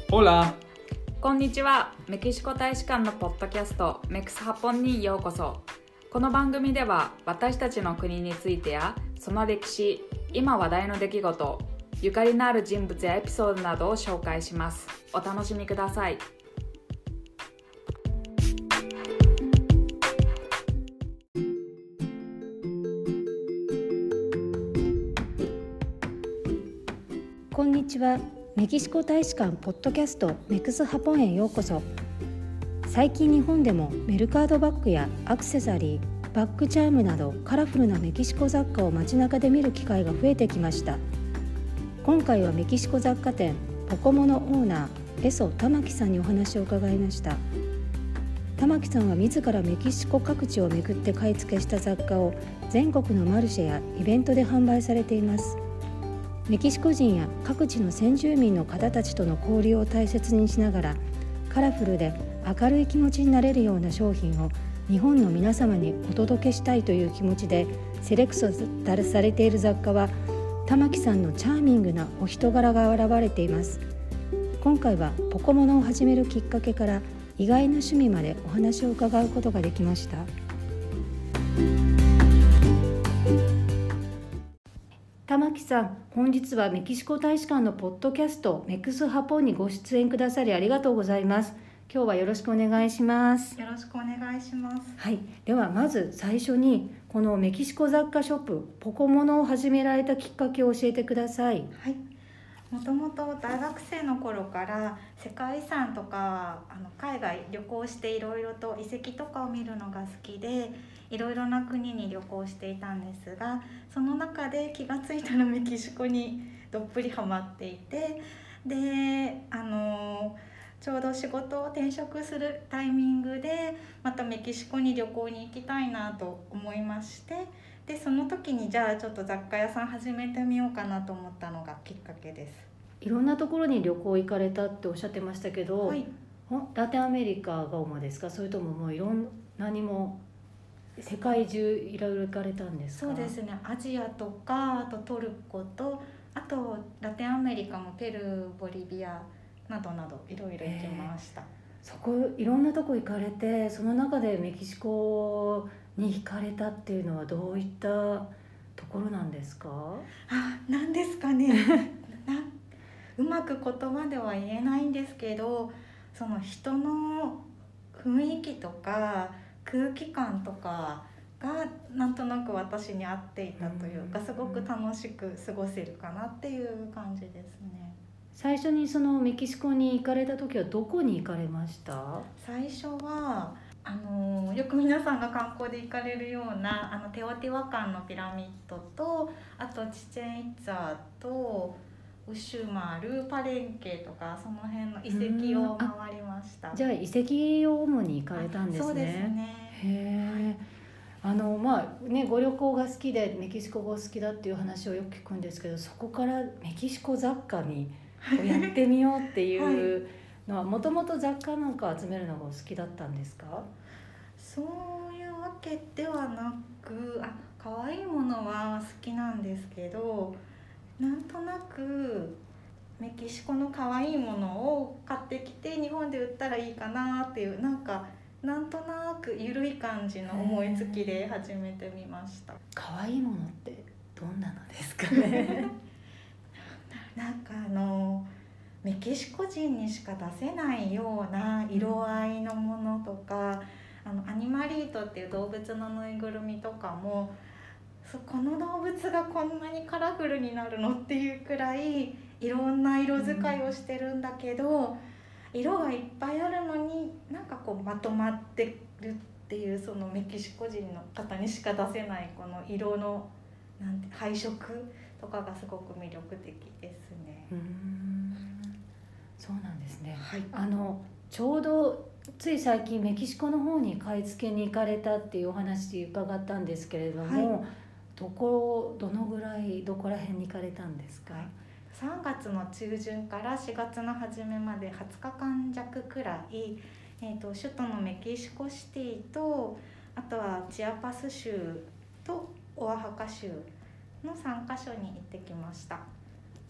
Hola! こんにちは。メキシコ大使館のポッドキャストメクスハポンにようこそ。この番組では私たちの国についてやその歴史、今話題の出来事、ゆかりのある人物やエピソードなどを紹介します。お楽しみください。 こんにちは。メキシコ大使館ポッドキャストメクスハポンへようこそ。最近日本でもメルカードバッグやアクセサリー、バッグチャームなどカラフルなメキシコ雑貨を街中で見る機会が増えてきました。今回はメキシコ雑貨店ポコモのオーナーエソ玉木さんにお話を伺いました。玉木さんは自らメキシコ各地を巡って買い付けした雑貨を全国のマルシェやイベントで販売されています。メキシコ人や各地の先住民の方たちとの交流を大切にしながら、カラフルで明るい気持ちになれるような商品を日本の皆様にお届けしたいという気持ちでセレクトされている雑貨は、玉木さんのチャーミングなお人柄が現れています。今回はポコモノを始めるきっかけから意外な趣味までお話を伺うことができました。玉木さん、本日はメキシコ大使館のポッドキャストメクスハポンにご出演くださりありがとうございます。今日はよろしくお願いします。 よろしくお願いします。 はい、ではまず最初にこのメキシコ雑貨ショップポコモノを始められたきっかけを教えてください。 はい、もともと大学生の頃から世界遺産とか海外旅行していろいろと遺跡とかを見るのが好きで、いろいろな国に旅行していたんですが、その中で気がついたらメキシコにどっぷりハマっていて、でちょうど仕事を転職するタイミングでまたメキシコに旅行に行きたいなと思いまして、でその時にじゃあちょっと雑貨屋さん始めてみようかなと思ったのがきっかけです。 いろんなところに旅行行かれたっておっしゃってましたけど、 はい、 ラテンアメリカが主ですか、それとももういろんなにも世界中いろいろ行かれたんですか？ そうですね、アジアとか、あとトルコと、あとラテンアメリカもペルー、ボリビアなどなどいろいろ行きました。 そこいろんなとこ行かれて、その中でメキシコに惹かれたっていうのはどういったところなんですか？ なんですかねうまく言葉では言えないんですけど、その人の雰囲気とか空気感とかがなんとなく私に合っていたというか、すごく楽しく過ごせるかなっていう感じですね。 最初にそのメキシコに行かれた時はどこに行かれました？ 最初はよく皆さんが観光で行かれるようなテオティワカンのピラミッドと、あとチチェンイッツァとウシュマル、パレンケとかその辺の遺跡を回りました。 じゃあ遺跡を主に行かれたんですね。 そうですね。 へー。ご旅行が好きでメキシコが好きだっていう話をよく聞くんですけど、そこからメキシコ雑貨にやってみようっていうのはもともと雑貨なんか集めるのがお好きだったんですか？ そういうわけではなく、可愛いものは好きなんですけど、なんとなくメキシコの可愛いものを買ってきて日本で売ったらいいかなっていう、なんとなく緩い感じの思いつきで始めてみました。 可愛いものってどんなのですかね？ メキシコ人にしか出せないような色合いのものとか、アニマリートっていう動物のぬいぐるみとかも、この動物がこんなにカラフルになるのっていうくらいいろんな色使いをしてるんだけど、色がいっぱいあるのにまとまってるっていう、そのメキシコ人の方にしか出せないこの色の配色とかがすごく魅力的ですね。 そうなんですね。 はい、 ちょうどつい最近メキシコの方に買い付けに行かれたっていうお話伺ったんですけれども、どのぐらいどこら辺に行かれたんですか ？3月の中旬から4月の初めまで20日間弱くらい、首都のメキシコシティと、あとはチアパス州とオアハカ州の3カ所に行ってきました。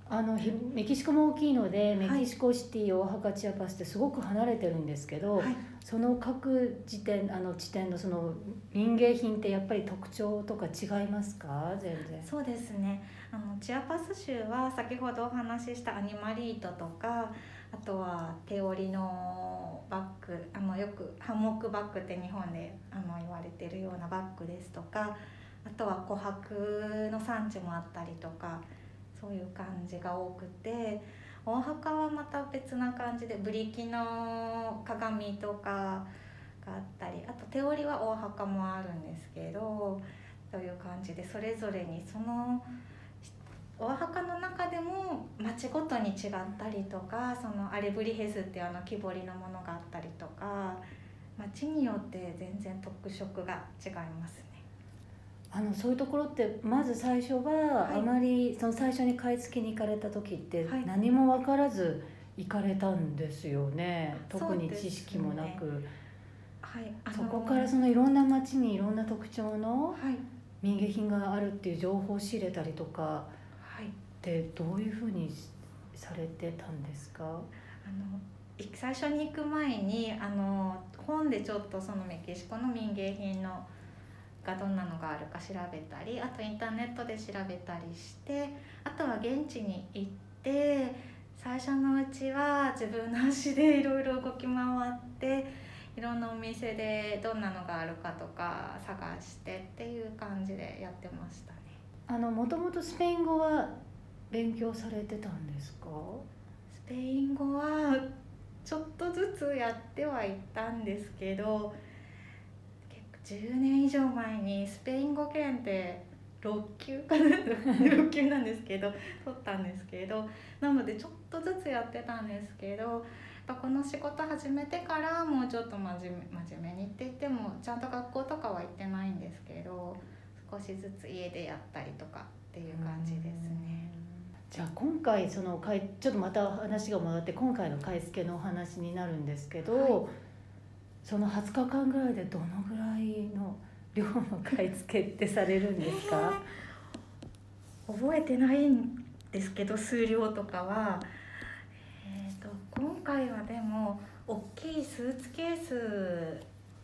メキシコも大きいので、メキシコシティ、オアハカ、チアパスってすごく離れてるんですけど、その各地点のその民芸品ってやっぱり特徴とか違いますか？全然。 そうですね、チアパス州は先ほどお話ししたアニマリートとか、あとは手織りのバッグ、よくハンモックバッグって日本で言われてるようなバッグですとか、あとは琥珀の産地もあったりとか、そういう感じが多くて、オアハカはまた別な感じでブリキの鏡とかがあったり、あと手織りはオアハカもあるんですけど、という感じでそれぞれにそのオアハカの中でも町ごとに違ったりとか、そのアレブリヘスっていう木彫りのものがあったりとか、町によって全然特色が違いますね。 そういうところってまず最初はあまり、その最初に買い付けに行かれた時って何も分からず行かれたんですよね、特に知識もなく。そこからそのいろんな町にいろんな特徴の民芸品があるっていう情報を仕入れたりとかってどういうふうにされてたんですか？ 最初に行く前に本でちょっとそのメキシコの民芸品のがどんなのがあるか調べたり、あとインターネットで調べたりして、あとは現地に行って、最初のうちは自分の足でいろいろ動き回っていろんなお店でどんなのがあるかとか探してっていう感じでやってましたね。 もともとスペイン語は勉強されてたんですか？ スペイン語はちょっとずつやってはいたんですけど、10年以上前にスペイン語検定6級かな6級なんですけど取ったんですけど、なのでちょっとずつやってたんですけど、やっぱこの仕事始めてからもうちょっと真面目にって言ってもちゃんと学校とかは行ってないんですけど、少しずつ家でやったりとかっていう感じですね。 じゃあ今回ちょっとまた話が戻って今回の買い付けのお話になるんですけど、その20日間ぐらいでどのぐらいの量の買い付けってされるんですか？ 覚えてないんですけど、数量とかは、今回はでも大きいスーツケース、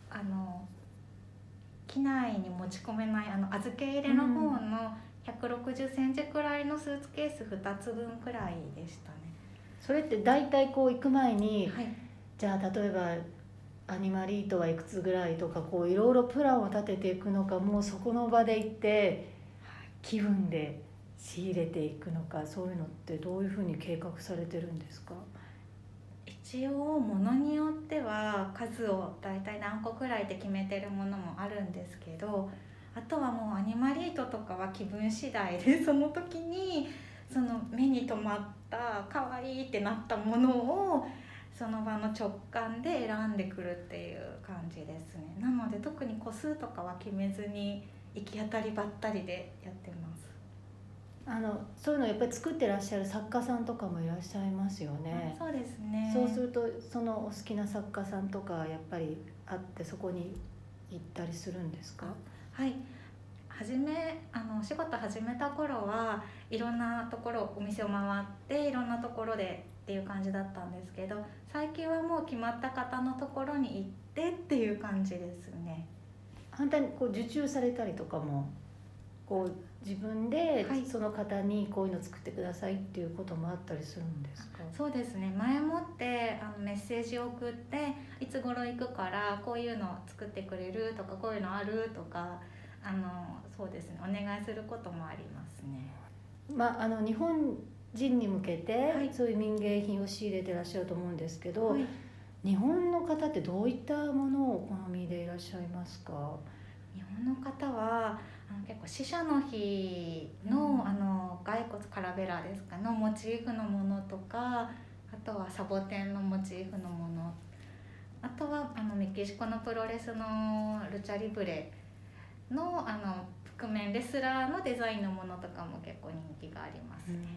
機内に持ち込めない預け入れの方の160センチくらいのスーツケース2つ分くらいでしたね。 それって大体行く前に、じゃあ例えばアニマリートはいくつぐらいとかいろいろプランを立てていくのか、もうそこの場で行って気分で仕入れていくのか、そういうのってどういうふうに計画されてるんですか？ 一応物によっては数を大体何個くらいって決めてるものもあるんですけど、あとはもうアニマリートとかは気分次第で、その時にその目に留まった可愛いってなったものをその場の直感で選んでくるっていう感じですね。なので特に個数とかは決めずに行き当たりばったりでやってます。 そういうのをやっぱり作ってらっしゃる作家さんとかもいらっしゃいますよね。 そうですね。 そうするとそのお好きな作家さんとかやっぱりあってそこに行ったりするんですか？ はい、お仕事始めた頃はいろんなところお店を回っていろんなところでっていう感じだったんですけど、最近はもう決まった方のところに行ってっていう感じですね。 反対に受注されたりとかも自分でその方にこういうの作ってくださいっていうこともあったりするんですか？ そうですね、前もってメッセージを送って、いつ頃行くからこういうの作ってくれるとか、こういうのあるとかそうですね、お願いすることもありますね。 日本人に向けてそういう民芸品を仕入れてらっしゃると思うんですけど、日本の方ってどういったものをお好みでいらっしゃいますか？ 日本の方は結構死者の日の、骸骨カラベラですかのモチーフのものとか、あとはサボテンのモチーフのもの、あとはメキシコのプロレスのルチャリブレの覆面レスラーのデザインのものとかも結構人気がありますね。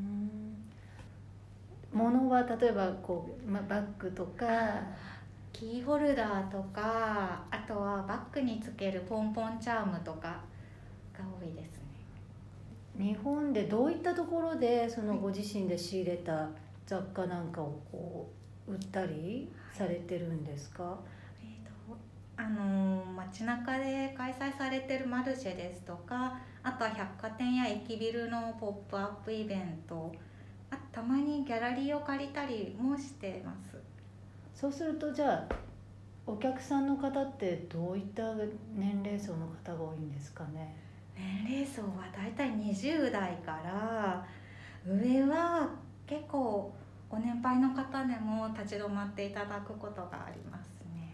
ものは例えばバッグとかキーホルダーとか、あとはバッグにつけるポンポンチャームとかが多いですね。 日本でどういったところでそのご自身で仕入れた雑貨なんかをこう売ったりされてるんですか？ 街中で開催されてるマルシェですとか、あとは百貨店や駅ビルのポップアップイベント、たまにギャラリーを借りたりもしてます。 そうするとじゃあお客さんの方ってどういった年齢層の方が多いんですかね？ 年齢層はだいたい20代から上は結構ご年配の方でも立ち止まっていただくことがありますね。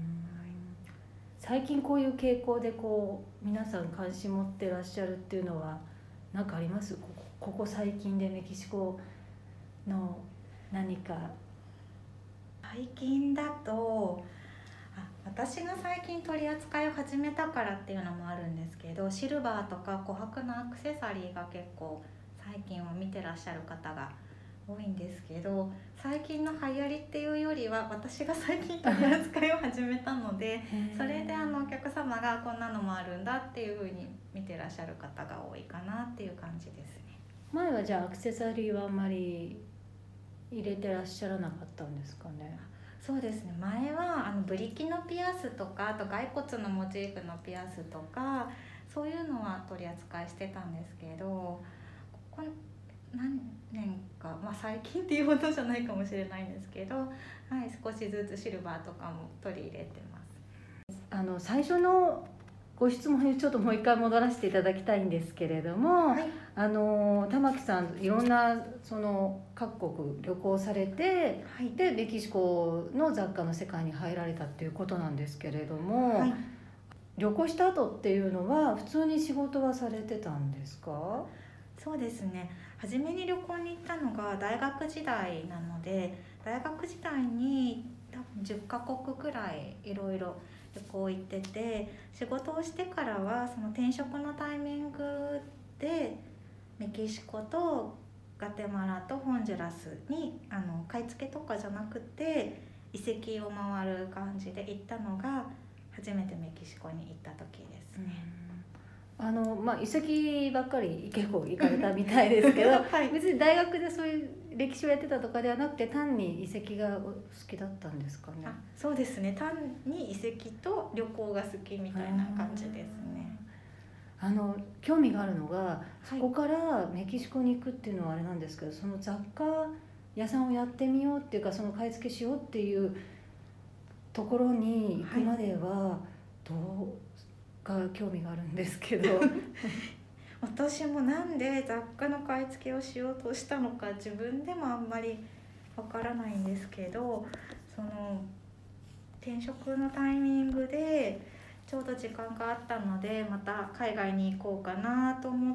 最近こういう傾向でこう皆さん関心持ってらっしゃるっていうのは何かあります？ここ最近でメキシコの何か。 最近だと私が最近取り扱いを始めたからっていうのもあるんですけど、シルバーとか琥珀のアクセサリーが結構最近は見てらっしゃる方が多いんですけど、最近の流行りっていうよりは私が最近取り扱いを始めたのでそれでお客様がこんなのもあるんだっていう風に見てらっしゃる方が多いかなっていう感じですね。 前はじゃあアクセサリーはあんまり入れてらっしゃらなかったんですかね？ そうですね、前はブリキのピアスとか、あと骸骨のモチーフのピアスとかそういうのは取り扱いしてたんですけど、ここ何年か、最近っていうほどじゃないかもしれないんですけど、少しずつシルバーとかも取り入れてます。 最初のご質問にちょっともう一回戻らせていただきたいんですけれども、玉木さんいろんなその各国旅行されて、でメキシコの雑貨の世界に入られたっていうことなんですけれども、旅行した後っていうのは普通に仕事はされてたんですか？ そうですね、初めに旅行に行ったのが大学時代なので、大学時代に多分10カ国くらいいろいろ旅行行ってて、仕事をしてからはその転職のタイミングでメキシコとガテマラとホンジュラスに買い付けとかじゃなくて遺跡を回る感じで行ったのが初めてメキシコに行った時ですね。 遺跡ばっかり結構行かれたみたいですけど、別に大学でそういう歴史をやってたとかではなくて単に遺跡がお好きだったんですかね？ そうですね、単に遺跡と旅行が好きみたいな感じですね。 興味があるのが、そこからメキシコに行くっていうのはあれなんですけど、その雑貨屋さんをやってみようっていうか、その買い付けしようっていうところに行くまではどうが興味があるんですけど私もなんで雑貨の買い付けをしようとしたのか自分でもあんまりわからないんですけど、その転職のタイミングでちょうど時間があったのでまた海外に行こうかなと思って、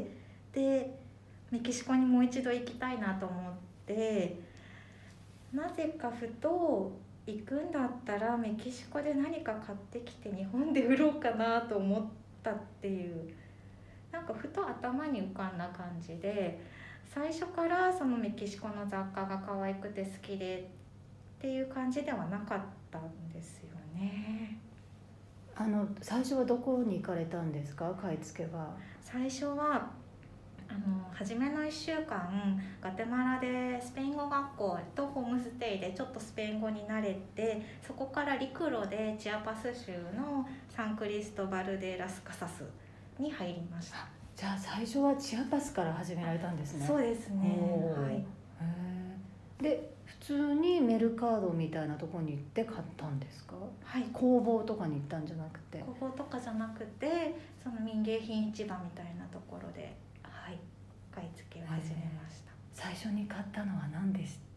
でメキシコにもう一度行きたいなと思って、なぜかふと行くんだったらメキシコで何か買ってきて日本で売ろうかなと思ったっていう、なんかふと頭に浮かんだ感じで、最初からそのメキシコの雑貨が可愛くて好きでっていう感じではなかったんですよね。 最初はどこに行かれたんですか？買い付けは。 最初は初めの1週間ガテマラでスペイン語学校とホームステイでちょっとスペイン語に慣れて、そこから陸路でチアパス州のサンクリストバル・デ・ラス・カサスに入りました。 じゃあ最初はチアパスから始められたんですね。 そうですね。 で普通にメルカードみたいなところに行って買ったんですか？工房とかに行ったんじゃなくて。 工房とかじゃなくて、その民芸品市場みたいなところで、買い付けを始めました。 最初に買ったのは何でした？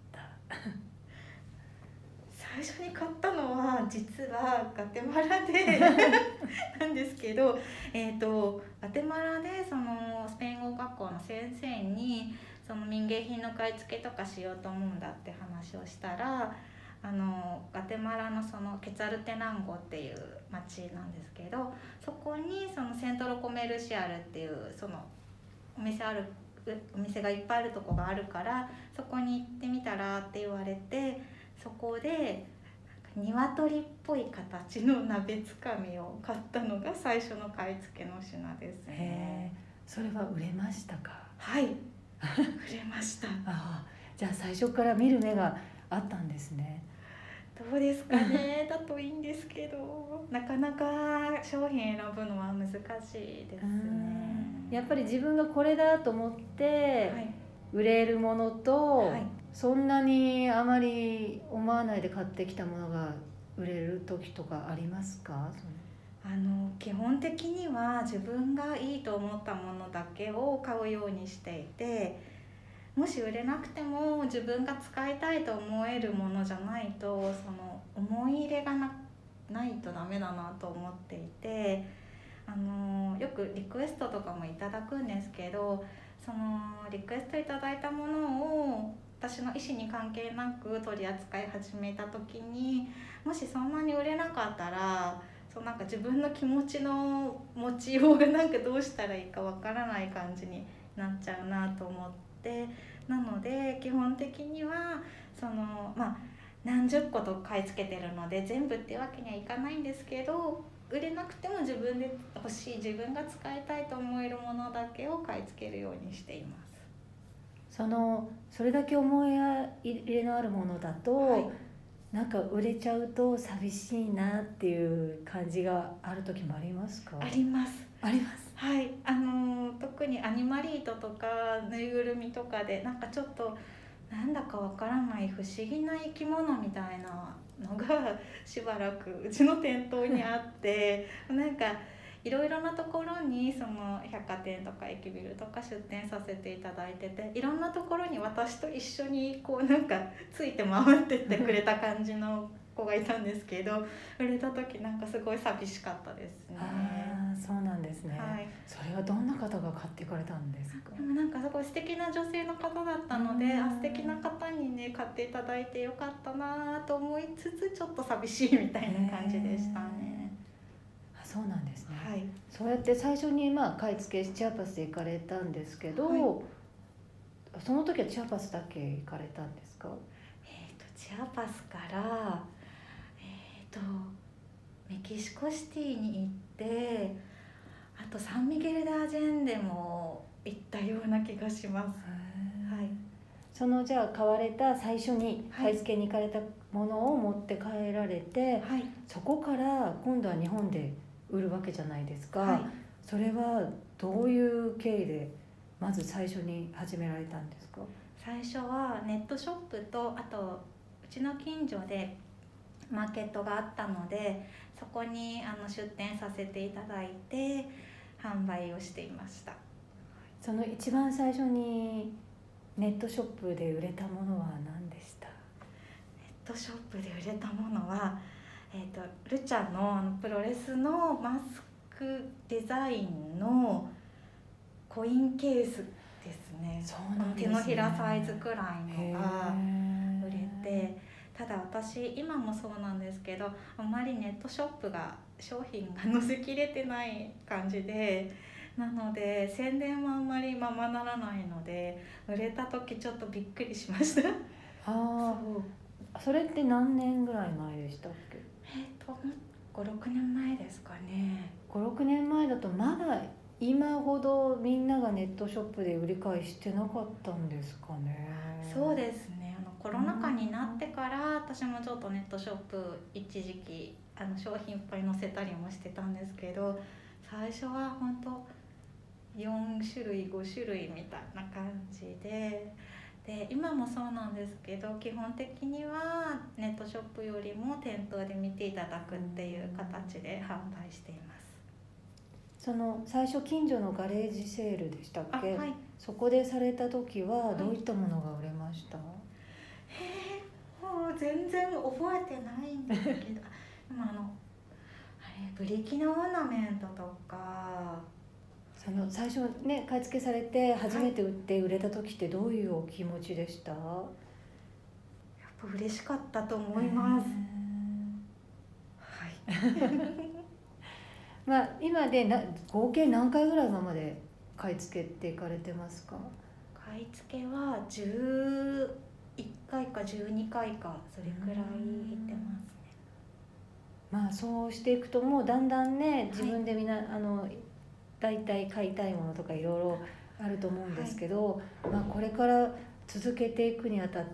最初に買ったのは実はガテマラでなんですけど、ガテマラでそのスペイン語学校の先生にその民芸品の買い付けとかしようと思うんだって話をしたら、ガテマラのそのケツァルテナンゴっていう町なんですけど、そこにそのセントロコメルシアルっていうそのお店がいっぱいあるとこがあるから、そこに行ってみたらって言われて、そこで鶏っぽい形の鍋つかみを買ったのが最初の買い付けの品ですね。 それは売れましたか？ はい売れました。 ああ、じゃあ最初から見る目があったんですね。 どうですかねだといいんですけど、なかなか商品選ぶのは難しいですね。 やっぱり自分がこれだと思ってはい売れるものと、 はいそんなにあまり思わないで買ってきたものが売れる時とかありますか？ 基本的には自分がいいと思ったものだけを買うようにしていて、もし売れなくても自分が使いたいと思えるものじゃないと、その思い入れがないとダメだなと思っていて、よくリクエストとかもいただくんですけど、そのリクエストいただいたものを私の意思に関係なく取り扱い始めた時に、もしそんなに売れなかったら、なんか自分の気持ちの持ちようがなんかどうしたらいいかわからない感じになっちゃうなと思って、なので基本的には何十個と買い付けてるので全部ってわけにはいかないんですけど、売れなくても自分で欲しい、自分が使いたいと思えるものだけを買い付けるようにしています。 それだけ思い入れのあるものだと、 はい、 なんか売れちゃうと寂しいなっていう感じがある時もありますか？ あります。 あります。 はい、特にアニマリートとかぬいぐるみとかでなんかちょっとなんだかわからない不思議な生き物みたいなのがしばらくうちの店頭にあってなんかいろいろなところにその百貨店とか駅ビルとか出店させていただいてて、いろんなところに私と一緒にこうなんかついて回ってってくれた感じの子がいたんですけど、売れた時なんかすごい寂しかったですね。 ああ、そうなんですね、 はい、 それはどんな方が買っていかれたんですか？ でもなんかすごい素敵な女性の方だったので、素敵な方にね買っていただいてよかったなと思いつつ、ちょっと寂しいみたいな感じでしたね。 そうなんですね、 はい、 そうやって最初に買い付けチアパスで行かれたんですけど、 はい、 その時はチアパスだけ行かれたんですか？ チアパスからメキシコシティに行って、あとサンミゲル・デ・アジェンデも行ったような気がします。はい、 じゃあ買われた最初に買い付けに行かれたものを持って帰られて、 はい、 そこから今度は日本で売るわけじゃないですか、 はい、 それはどういう経緯でまず最初に始められたんですか？ 最初はネットショップと、あとうちの近所でマーケットがあったので、そこに出店させていただいて販売をしていました。 その一番最初にネットショップで売れたものは何でした？ ネットショップで売れたものは、ルチャのプロレスのマスクデザインのコインケースですね。 そうなんですね。 手のひらサイズくらいのが売れて、ただ私今もそうなんですけど、あんまりネットショップが商品が載せきれてない感じで、なので宣伝もあんまりままならないので、売れた時ちょっとびっくりしました。 それって何年ぐらい前でしたっけ ？5、6年前ですかね。 5、6年前だとまだ今ほどみんながネットショップで売り買いしてなかったんですかね。 そうですね、コロナ禍になってから私もちょっとネットショップ一時期商品いっぱい載せたりもしてたんですけど、最初は本当4種類5種類みたいな感じで、今もそうなんですけど、基本的にはネットショップよりも店頭で見ていただくっていう形で販売しています。 最初近所のガレージセールでしたっけ？ はい、 そこでされた時はどういったものが売れました？ もう全然覚えてないんですけどでもブリキのオーナメントとか、 最初ね買い付けされて初めて売って売れた時ってどういうお気持ちでした？ やっぱ嬉しかったと思います。 はい。今で合計何回ぐらい今まで買い付けていかれてますか？ 買い付けは11回か12回かそれくらい行ってますね。 そうしていくともうだんだんね自分でだいたい買いたいものとかいろいろあると思うんですけど、これから続けていくにあたって、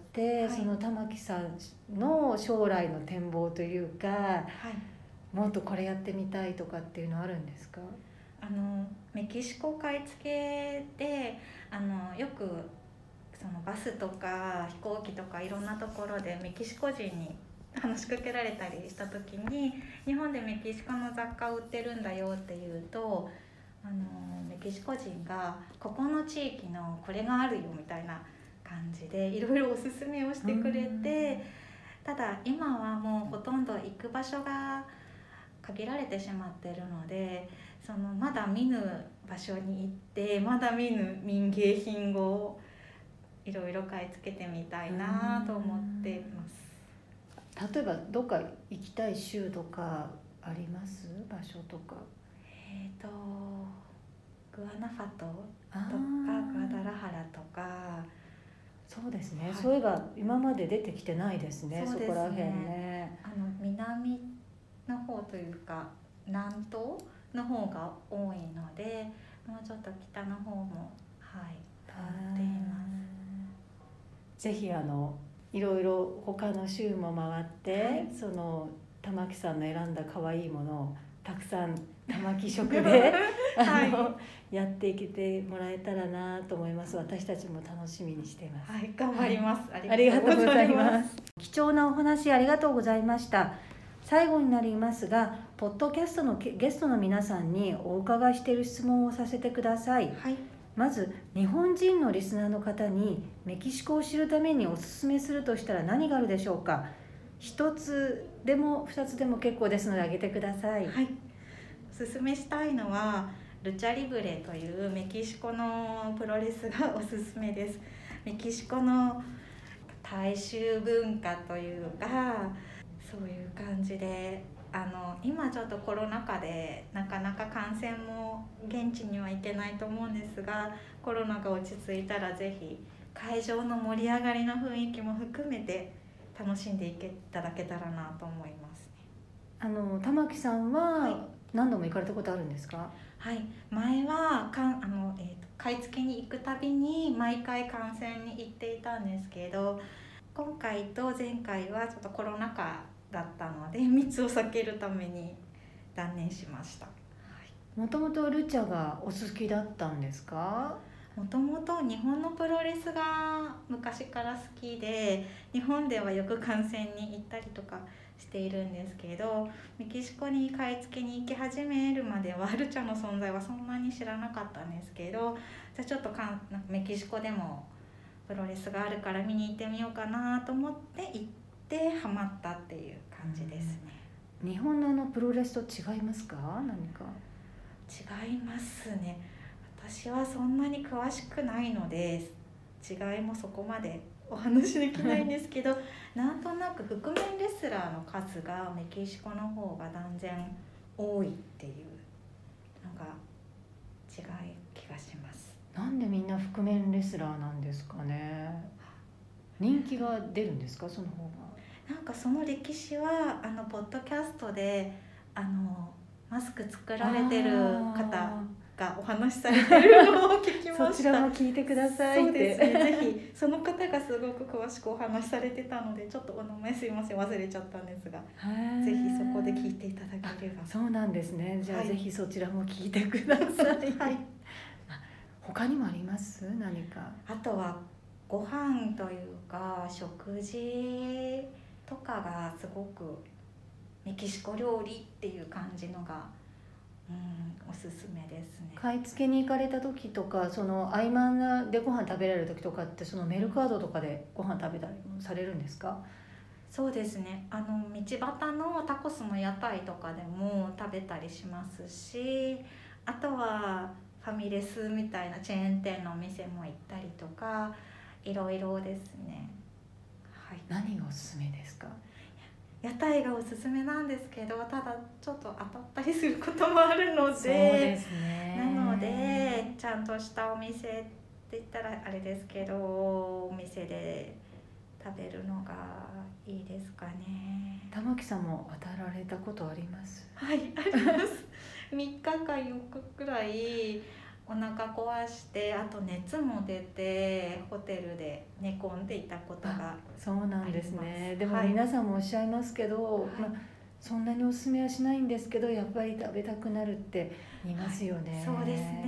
その玉木さんの将来の展望というか、もっとこれやってみたいとかっていうのはあるんですか？ メキシコ買い付けでよくそのバスとか飛行機とかいろんなところでメキシコ人に話しかけられたりした時に、日本でメキシコの雑貨を売ってるんだよっていうと、メキシコ人がここの地域のこれがあるよみたいな感じでいろいろおすすめをしてくれて、ただ今はもうほとんど行く場所が限られてしまってるので、そのまだ見ぬ場所に行ってまだ見ぬ民芸品をいろいろ買い付けてみたいなと思っています。 例えばどっか行きたい州とかあります？場所とか。 グアナファトとかグアダラハラとか。 そうですね、そういえば今まで出てきてないですね。そこら辺ね。 南の方というか南東の方が多いので、もうちょっと北の方も回っています。 ぜひいろいろ他の州も回って、その玉木さんの選んだ可愛いものをたくさん玉木色でやっていけてもらえたらなと思います。私たちも楽しみにしています。 頑張ります。 ありがとうございます。貴重なお話ありがとうございました。最後になりますが、ポッドキャストのゲストの皆さんにお伺いしている質問をさせてください。まず、日本人のリスナーの方にメキシコを知るためにおすすめするとしたら何があるでしょうか？一つでも二つでも結構ですので挙げてください。 おすすめしたいのはルチャリブレというメキシコのプロレスがおすすめです。メキシコの大衆文化というか、そういう感じで今ちょっとコロナ禍でなかなか観戦も現地には行けないと思うんですが、コロナが落ち着いたらぜひ会場の盛り上がりの雰囲気も含めて楽しんでいただけたらなと思いますね。 玉木さんは何度も行かれたことあるんですか？ 前は買い付けに行くたびに毎回観戦に行っていたんですけど、今回と前回はちょっとコロナ禍だったので密を避けるために断念しました。 もともとルチャがお好きだったんですか？ もともと日本のプロレスが昔から好きで、日本ではよく観戦に行ったりとかしているんですけど、メキシコに買い付けに行き始めるまではルチャの存在はそんなに知らなかったんですけど、じゃあちょっとメキシコでもプロレスがあるから見に行ってみようかなと思って行ってハマったっていう感じですね。 日本のプロレスと違いますか？何か違いますね。私はそんなに詳しくないので違いもそこまでお話できないんですけどなんとなく覆面レスラーの数がメキシコの方が断然多いっていうのが違い気がします。 なんでみんな覆面レスラーなんですかね？人気が出るんですか、その方が？ なんかその歴史はポッドキャストでマスク作られてる方がお話しされてるのを聞きました。 そちらも聞いてくださいって。 そうですね、ぜひその方がすごく詳しくお話しされてたので、ちょっとお名前すいません忘れちゃったんですが、ぜひそこで聞いていただければ。 そうなんですね。じゃあ、ぜひそちらも聞いてください。他にもあります？何か。 あとはご飯というか食事とかがすごくメキシコ料理っていう感じのがおすすめですね。 買い付けに行かれた時とか、その合間でご飯食べられる時とかって、そのメルカードとかでご飯食べたりもされるんですか？ そうですね、道端のタコスの屋台とかでも食べたりしますし、あとはファミレスみたいなチェーン店のお店も行ったりとか、いろいろですね。 何がおすすめですか？ 屋台がおすすめなんですけど、ただちょっと当たったりすることもあるので、 そうですね、 なのでちゃんとしたお店って言ったらあれですけど、お店で食べるのがいいですかね。 玉木さんも渡られたことあります？ はい、あります。3日か4日くらいお腹壊して、あと熱も出てホテルで寝込んでいたことが。 そうなんですね。でもはい、 皆さんもおっしゃいますけど、 はい、 そんなにおすすめはしないんですけど、やっぱり食べたくなるって言いますよね。 そうですね。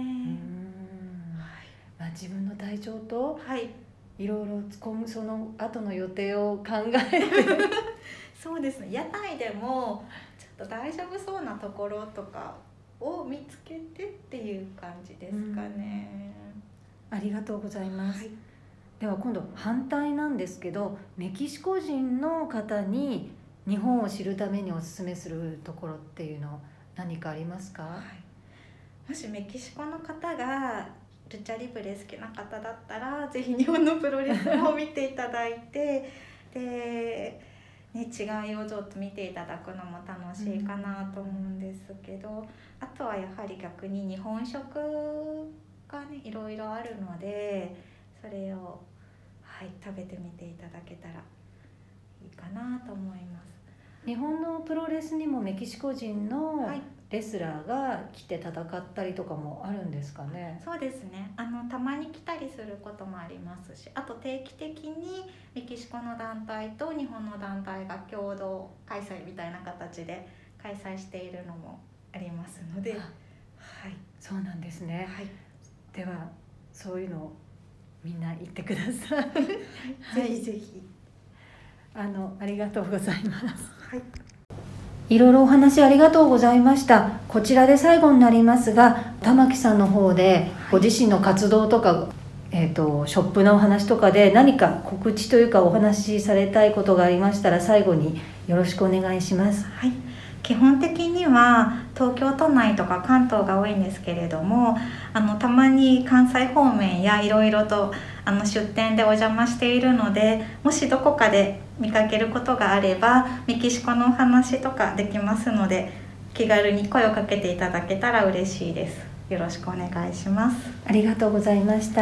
自分の体調とはい、 いろいろその後の予定を考えてそうですね。屋台でもちょっと大丈夫そうなところとかを見つけてっていう感じですかね。 ありがとうございます。 はい、 では今度反対なんですけど、メキシコ人の方に日本を知るためにおすすめするところっていうの何かありますか？ はい、もしメキシコの方がルチャリブレ好きな方だったら、ぜひ日本のプロレスを見ていただいてで、ね、違いをちょっと見ていただくのも楽しいかなと思うんですけど、あとはやはり逆に日本食がねいろいろあるので、それを、はい、食べてみていただけたらいいかなと思います。 日本のプロレスにもメキシコ人のはい、 レスラーが来て戦ったりとかもあるんですかね？ そうですね。たまに来たりすることもありますし、あと定期的にメキシコの団体と日本の団体が共同開催みたいな形で開催しているのもありますので、はい、 そうなんですね。 はい、 ではそういうのをみんな言ってください。 ぜひぜひ。 ありがとうございます。 はい。 いろいろお話ありがとうございました。こちらで最後になりますが、玉木さんの方でご自身の活動とか、ショップのお話とかで何か告知というかお話しされたいことがありましたら、最後によろしくお願いします。 はい。基本的には東京都内とか関東が多いんですけれども、たまに関西方面やいろいろと出店でお邪魔しているので、もしどこかで見かけることがあればメキシコのお話とかできますので、気軽に声をかけていただけたら嬉しいです。よろしくお願いします。 ありがとうございました。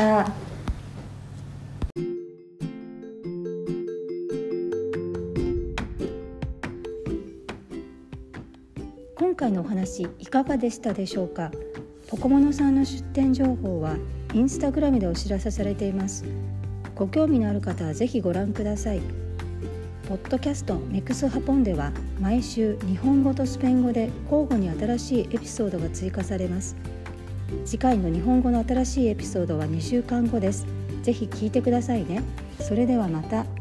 今回のお話いかがでしたでしょうか。ポコモノさんの出店情報はインスタグラムでお知らせされています。ご興味のある方はぜひご覧ください。ポッドキャストメクスハポンでは毎週日本語とスペイン語で交互に新しいエピソードが追加されます。次回の日本語の新しいエピソードは2週間後です。ぜひ聞いてくださいね。それではまた。